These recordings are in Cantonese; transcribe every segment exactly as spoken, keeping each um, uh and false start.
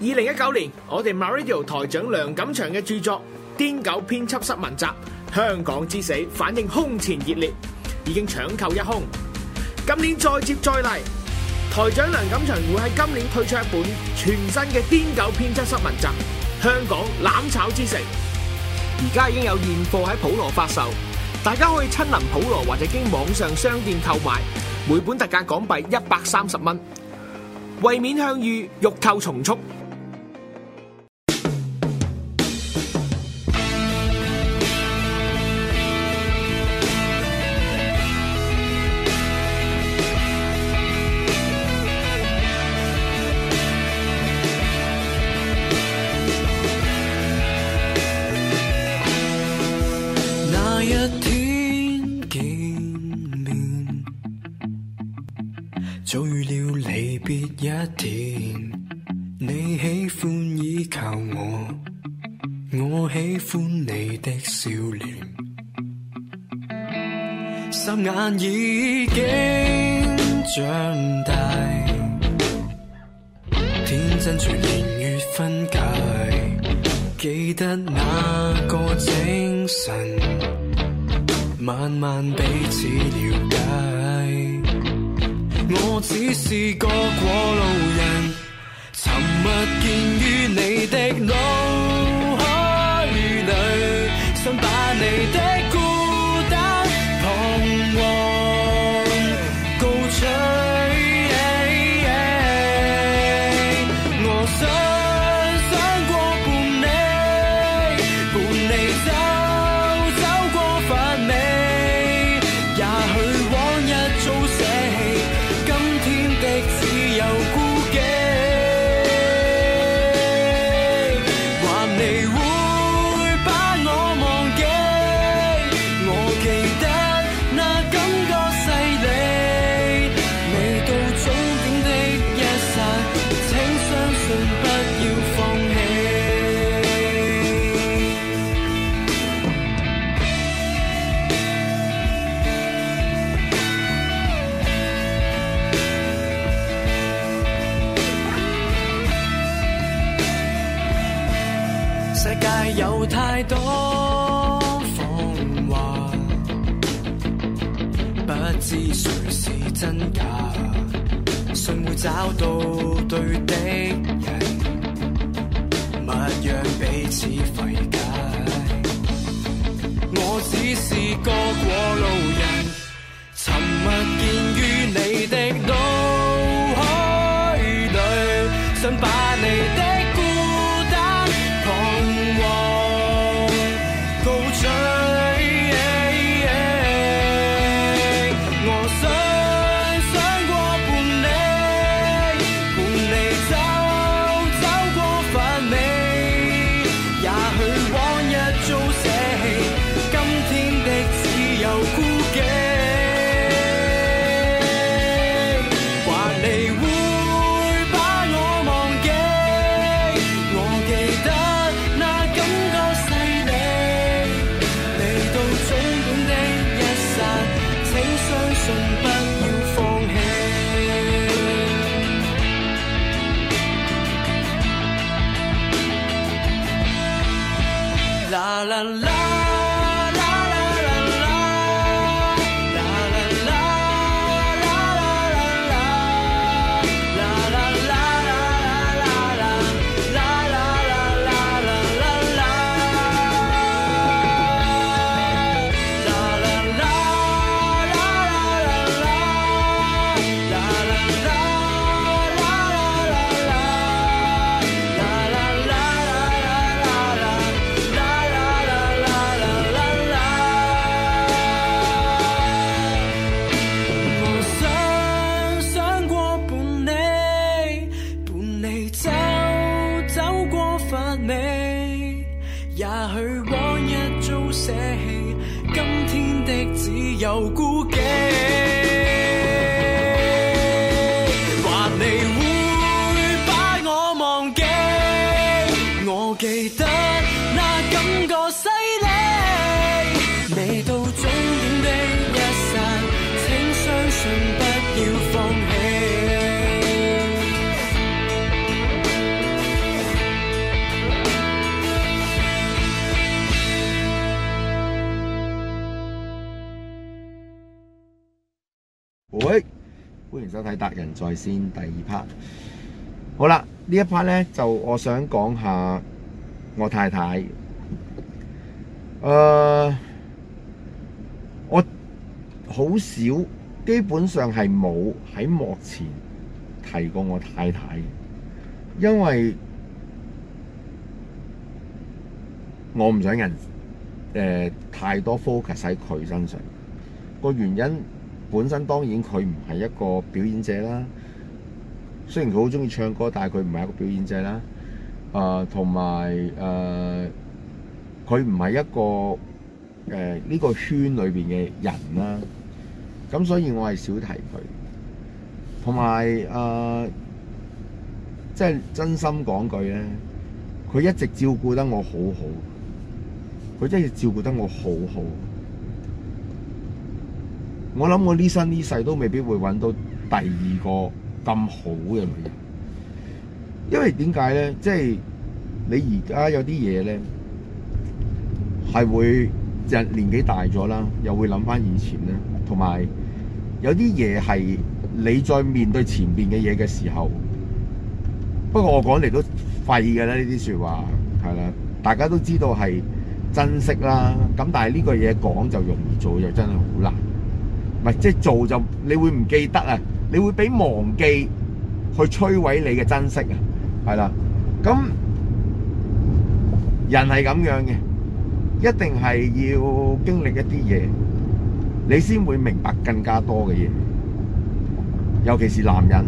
二零一九年，我哋 MyRadio 台長梁錦祥嘅著作《癲狗編輯室文集：香港之死》反應空前熱烈，已經搶購一空。今年再接再厲，台長梁錦祥會喺今年推出一本全新嘅《癲狗編輯室文集：香港攬炒之城》，而家已經有現貨喺普羅發售，大家可以親臨普羅或者經網上商店購買，每本特價港幣一百三十蚊。為免向隅，欲購從速。 那一天見面，早預料離別一天。你喜歡依靠我，我喜歡你的笑臉。霎眼已經長大，天真隨年月分解。記得那個清晨，慢慢彼此了解。我只是個過路人，沉默見於你的腦海裏，想把你的孤單彷徨告吹。我想有太多謊話，不知誰是真假，信會找到對的人，勿讓彼此費解。我只是個過路人，沉默見於你的腦海裏，想把你的啦啦啦。有孤寂，話你會把我忘記，我記得那感覺犀利，未到終點的一剎，請相信不要放棄。 歡迎收睇達仁在線第二 part。好啦，呢一 part 咧就我想講下我太太。誒、呃，我好少，基本上係冇喺幕前提過我太太，因為我唔想人誒、呃、太多 focus 喺佢身上。個原因本身當然佢唔係一個表演者啦，雖然佢好中意唱歌，但係佢唔係一個表演者啦。誒同埋誒，佢唔係一個誒呢、呃呢個圈裏邊嘅人啦。咁所以我係少提佢。同埋誒，即係真心講句咧，佢一直照顧得我好好，佢真係照顧得我好好。我諗我呢生呢世都未必會揾到第二個咁好嘅女人，因為點解咧？即係你而家有啲嘢咧，係會人年紀大咗啦，又會諗翻以前咧，同埋有啲嘢係你再面對前邊嘅嘢嘅時候，不過我講嚟都廢嘅啦，呢啲説話係啦，大家都知道係珍惜啦。咁但係呢個嘢講就容易，做又真係好難。唔係，即係做就你會唔記得啊！你會俾忘記去摧毀你嘅珍惜啊，係啦。咁人係咁樣嘅，一定係要經歷一啲嘢，你先會明白更加多嘅嘢。尤其是男人。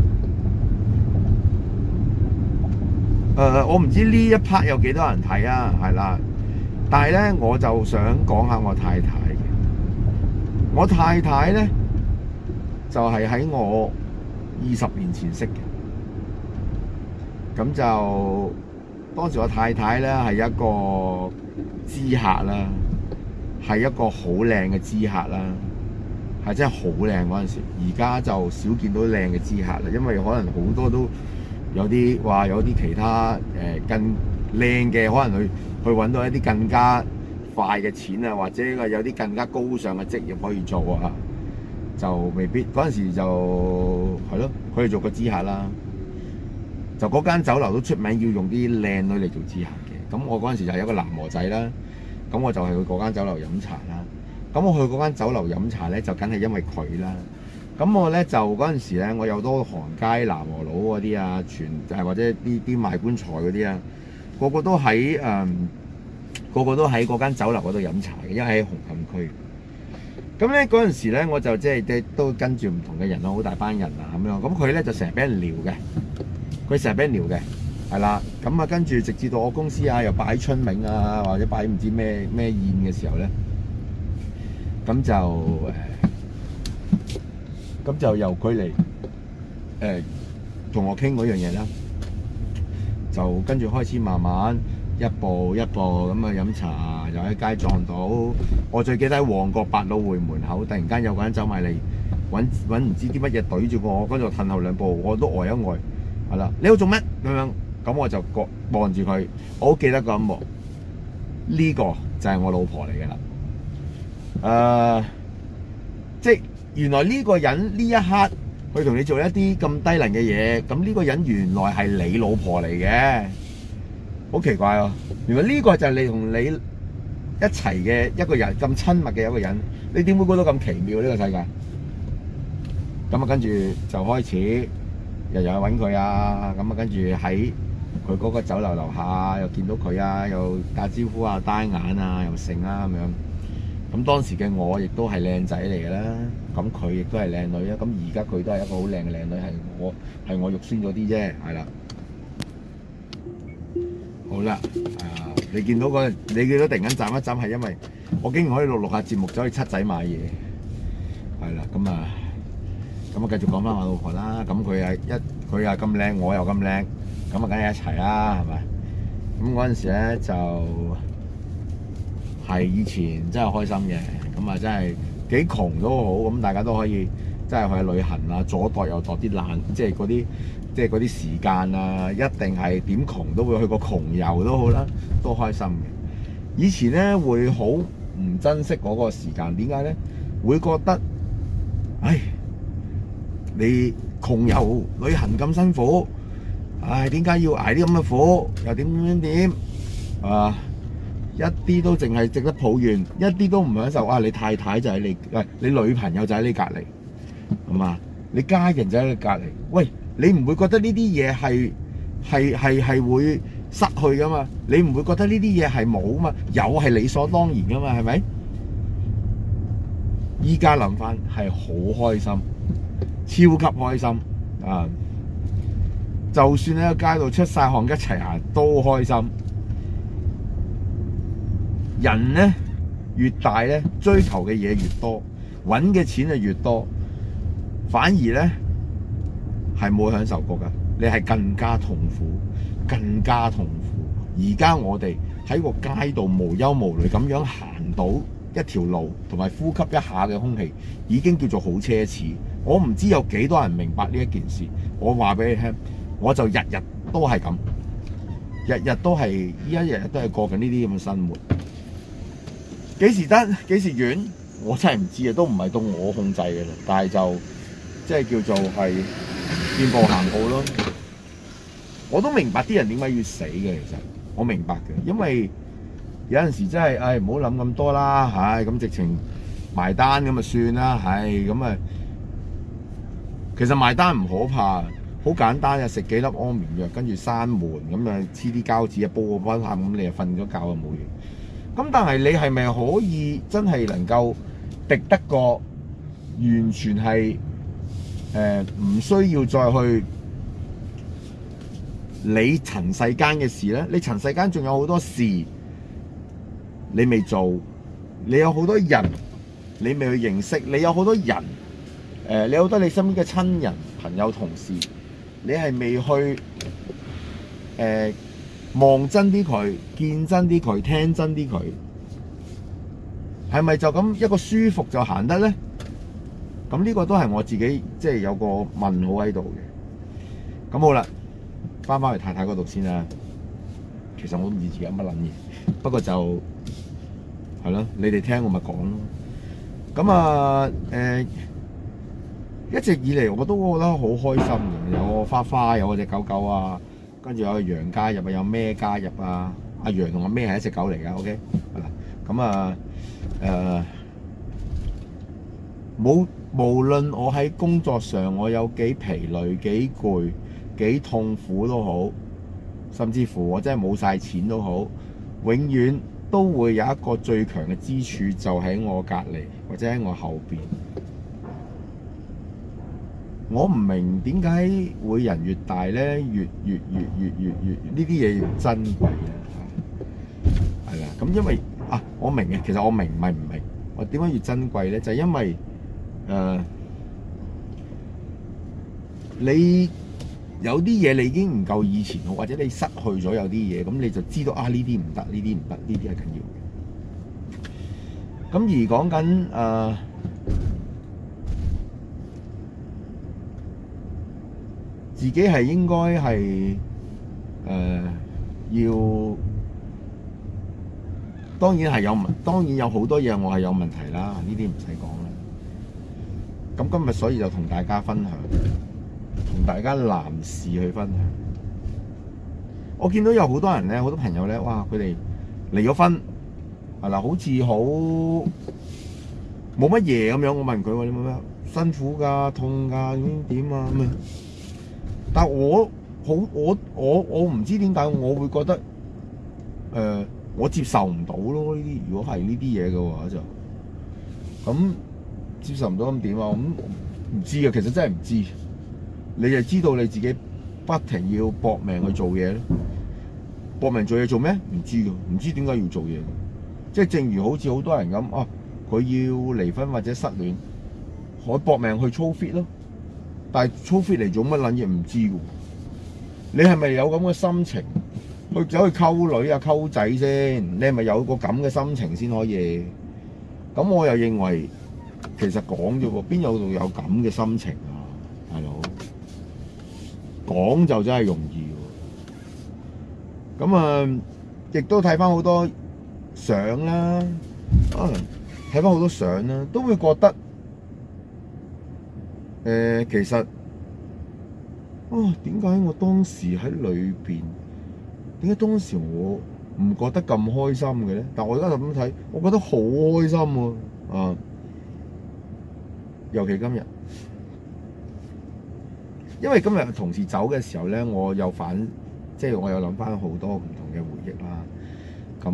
誒、呃，我唔知呢一 part 有幾多人睇啊，係啦。但係咧，我就想講下我太太。我太太咧就係、是、喺我二十年前識嘅，咁就當時我太太咧係一個知客啦，係一個好靚嘅知客啦，係真係好靚嗰陣時。而家就少見到靚嘅知客啦，因為可能好多都有啲話有啲其他誒、呃、更靚嘅，可能去去揾到一啲更加快嘅錢啊，或者有啲更加高尚嘅職業可以做啊，就未必嗰陣時就係咯，佢哋做個知客啦。就嗰間酒樓都出名要用啲靚女嚟做知客嘅。咁我嗰陣時就係一個男模仔啦，咁我就係去嗰間酒樓飲茶啦。咁我去嗰間酒樓飲茶咧，就梗係因為佢啦。咁我咧就嗰陣時咧，我有多行街南和佬嗰啲啊，全誒或者啲啲賣棺材嗰啲啊，個個都喺誒。嗯個個都喺嗰間酒樓嗰度飲茶嘅，因為喺紅磡區。咁咧嗰陣時咧，我就即係都跟住唔同嘅人咯，好大班人啊咁樣。咁佢咧就成日俾人撩嘅，佢成日俾人撩嘅，係啦。咁啊跟住直至到我公司啊又擺春茗啊，或者擺唔知咩咩宴嘅時候咧，咁就誒，咁就由佢嚟誒同我傾嗰樣嘢啦。就跟住開始慢慢。一步一步咁啊飲茶，又喺街撞到。我最記得喺旺角百老匯門口，突然間有個人走埋嚟揾揾唔知啲乜嘢對住我，跟住褪後兩步，我都呆一呆，係啦。你喺度做咩咁樣？咁我就望望住佢，我好記得個一幕。呢個就係我老婆嚟嘅啦。誒、呃，即係原來呢個人呢一刻去同你做一啲咁低能嘅嘢，咁呢個人原來係你老婆嚟嘅。好奇怪啊！原來呢個就係你同你一齊嘅一個人，咁親密嘅一個人，你點會覺得咁奇妙呢個世界？咁啊，跟住就開始日日去揾佢啊！咁啊，跟住喺佢嗰個酒樓樓下又見到佢啊，又打招呼啊、單眼啊、又剩啊咁樣。咁當時嘅我亦都係靚仔嚟嘅啦，咁佢亦都係靚女啊。咁而家佢都係一個好靚嘅靚女，係我係我肉酸咗啲啫，係啦。好啦，啊！你見到嗰個，你見到突然間斬一斬，係因為我竟然可以錄錄下節目，走去七仔買嘢，係啦，咁啊，咁啊繼續講翻我老婆啦。咁佢係一，佢又咁靚，我又咁靚，咁啊梗係一齊啦，係咪？咁嗰陣時咧就係以前真係開心嘅，咁啊真係幾窮都好，咁大家都可以真係去旅行啊，左度右度啲爛，即係嗰啲。即係嗰啲時間啊，一定係點窮都會去個窮遊都好啦，都開心嘅。以前咧會好唔珍惜嗰個時間，點解咧？會覺得，唉， 你窮遊旅行咁辛苦，唉，點解要捱啲咁嘅苦？又點點點啊？一啲都淨係值得抱怨，一啲都唔享受。啊，你太太就喺你，喂，你女朋友就喺你隔離，係嘛？你家人就喺你隔離。喂，你唔會覺得呢啲嘢係係係係會失去噶嘛？你唔會覺得呢啲嘢係冇嘛？有係理所當然噶嘛？係咪？依家諗翻係好開心，超級開心啊！就算喺個街度出晒汗一齊行都開心。人咧越大咧，追求嘅嘢越多，揾嘅錢就越多，反而咧係冇享受過噶，你係更加痛苦，更加痛苦。而家我哋喺個街度無憂無慮咁樣行到一條路，同埋呼吸一下嘅空氣，已經叫做好奢侈。我唔知有幾多人明白呢一件事。我話俾你聽，我就日日都係咁，日日都係依家日日都係過緊呢啲咁嘅生活。幾時得？幾時完？我真係唔知啊，都唔係到我控制嘅啦。但係就即係叫做係見步行步咯。我都明白啲人點解要死嘅，其實我明白嘅，因為有陣時真係，唉，唔好諗咁多啦，唉，咁直情埋單咁就算啦，唉，咁啊，其實埋單唔可怕，好簡單嘅，食幾粒安眠藥，跟住閂門，咁啊黐啲膠紙啊，煲個溫喊，咁你就瞓咗覺就冇嘢。咁但係你係咪可以真係能夠敵得過完全係誒唔需要再去理塵世間嘅事咧？你塵世間仲有好多事你未做，你有好多人你未去認識，你有好多人誒、呃，你有好多你身邊嘅親人、朋友、同事，你係未去誒望、呃、真啲佢，見真啲佢，聽真啲佢，係咪就咁一個舒服就行得咧？咁呢個都係我自己即係有個問號喺度嘅。咁好啦，翻返去太太嗰度先啦。其實我都唔知自己有乜撚嘢，不過就係咯，你哋聽我咪講咯。咁啊誒，一直以嚟我都覺得好開心嘅，有個花花，有嗰隻狗狗啊，跟住有個羊加入啊，有咩加入啊？阿羊同阿咩係一隻狗嚟㗎 ，OK 係啦。咁啊誒，冇無論我喺工作上我有幾疲累、幾攰、幾痛苦都好，甚至乎我真係冇晒錢都好，永遠都會有一個最強嘅支柱，就喺我隔離或者喺我後邊。我唔明點解會人越大咧，越越越越越越呢啲嘢越珍貴啊！係啦，咁因為啊，我明嘅，其實我明唔係唔明，我點解越珍貴咧？就係因為誒、呃，你有啲嘢你已經唔夠以前好，或者你失去咗有啲嘢，咁你就知道啊，呢啲唔得，呢啲唔得，呢啲係緊要嘅。咁而講緊誒。呃自己係應該係誒、呃、要，當然係有問，當然有好多嘢我係有問題啦，呢啲唔使講啦。咁今日所以就同大家分享，同大家男士去分享。我見到有好多人咧，好多朋友咧，哇！佢哋離咗婚係啦，好似好冇乜嘢咁樣。我問佢話：你冇咩辛苦㗎、痛㗎、點點啊咁啊？但係我好我我我唔知點解我會覺得誒、呃、我接受唔到咯，呢啲如果係呢啲嘢嘅話就咁接受唔到咁點啊？咁唔知啊，其實真係唔知。你就知道你自己不停要搏命去做嘢咧，搏命做嘢做咩？唔知㗎，唔知點解要做嘢。即係正如好似好多人咁啊，佢要離婚或者失戀，我搏命去操 fit 咯。但係操 fit 嚟做乜撚嘢唔知喎？你係咪有咁嘅心情去走去溝女啊溝仔先？你係咪有個咁嘅心情先可以？咁我又認為其實講啫喎，邊有度有咁嘅心情啊，大佬？講就真係容易喎。咁啊，亦都睇翻好多相啦，啊睇翻好多相啦，都會覺得。誒、 呃，其實啊，點解我當時喺裏邊，點解當時我唔覺得咁開心嘅咧？但我而家就咁睇，我覺得好開心喎！啊，尤其今日，因為今日同事走嘅時候咧，我有反，即係我有諗翻好多唔同嘅回憶啦。咁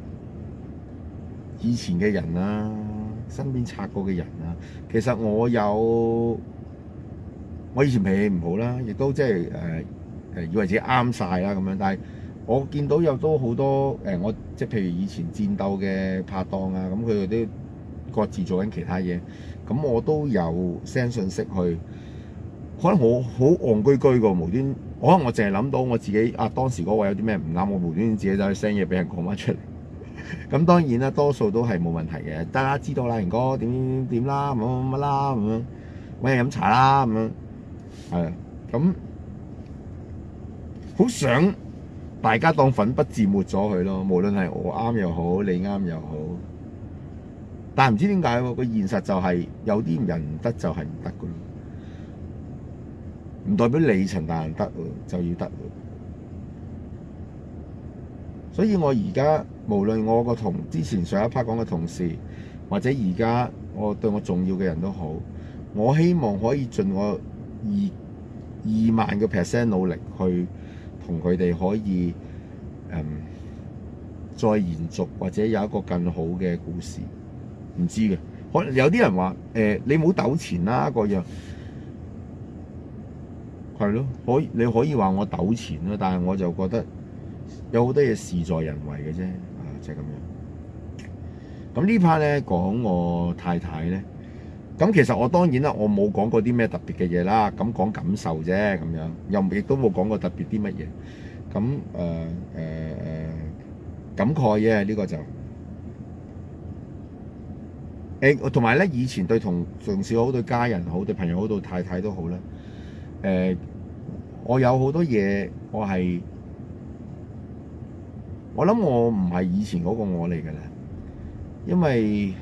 以前嘅人啦，身邊擦過嘅人啦，其實我有。我以前脾氣唔好啦，亦都即係誒誒以為自己啱晒啦咁樣，但係我見到有都好多誒、呃，我即係譬如以前戰鬥嘅拍檔啊，咁佢哋都各自做緊其他嘢，咁我都有 send 信息去，可能我好戇居居個無端，可能我淨係諗到我自己啊當時嗰位有啲咩唔啱，我無端端自己走去 send 嘢俾人講翻出嚟。咁當然啦，多數都係冇問題嘅，得啦，知道啦，賢哥點點點啦，乜乜乜啦咁樣，揾人飲茶啦咁樣。係啊，咁好想大家當粉筆字抹咗佢咯，無論係我啱又好，你啱又好。但係唔知點解喎，個現實就係有啲人唔得就係唔得噶咯，唔代表你陳大人得就要得。所以我而家無論我個同之前上一 part 講嘅同事，或者而家我對我重要嘅人都好，我希望可以盡我二二萬個 percent 努力去同佢哋可以誒、嗯、再延續或者有一個更好嘅故事，唔知嘅，可能有啲人話誒、呃、你冇糾纏啦嗰樣，係咯，可以你可以話我糾纏啦，但係我就覺得有好多嘢事在人為嘅啫，啊就係、是、咁樣。咁呢 part 咧講我太太咧。咁其實我當然啦，我冇講過啲咩特別嘅嘢啦，咁講感受啫，咁樣又亦都冇講過特別啲乜嘢。咁誒誒誒感慨嘅呢個就誒，同埋咧以前對同同事好、對家人好、對朋友好、對太太都好啦。誒、呃，我有好多嘢，我係我諗我唔係以前嗰個我嚟㗎啦，因為。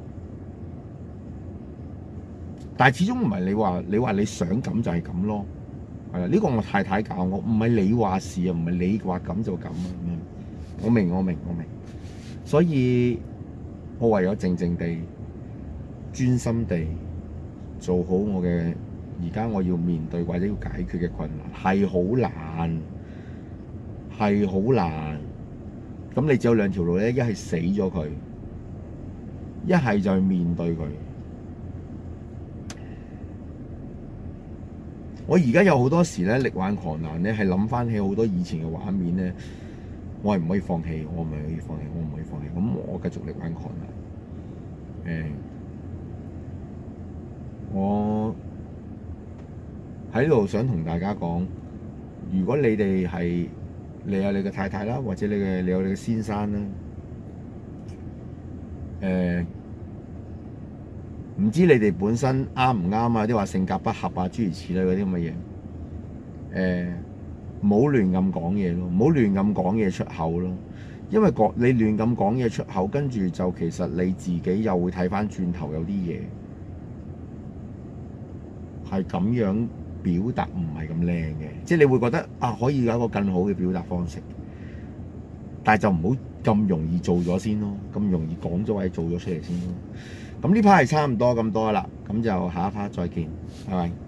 但係始終唔係你話你話你想咁就係咁咯，係啦，呢個我太太教我，唔係你話事啊，唔係你話咁就咁啊，我明我明我明，所以我唯有靜靜地、專心地做好我嘅而家我要面對或者要解決嘅困難，係好難，係好難。咁你只有兩條路咧，一係死咗佢，一係就去面對佢。我而家有好多時咧，力挽狂瀾咧，係諗翻起好多以前嘅畫面咧，我係唔可以放棄，我唔可以放棄，我唔可以放棄。咁我繼續力挽狂瀾。誒、欸，我喺度想同大家講，如果你哋係你有你嘅太太啦，或者你嘅你有你嘅先生啦，誒、欸。唔知你哋本身啱唔啱啊？啲話性格不合啊，諸如此類嗰啲咁嘅嘢。誒、呃，唔好亂咁講嘢咯，唔好亂咁講嘢出口咯。因為講你亂咁講嘢出口，跟住就其實你自己又會睇翻轉頭，有啲嘢係咁樣表達唔係咁靚嘅，即係你會覺得啊，可以有一個更好嘅表達方式，但係就唔好咁容易做咗先咯，咁容易講咗或者做咗出嚟先咯。咁呢 part 係差唔多咁多啦，咁就下一 part 再見，拜拜。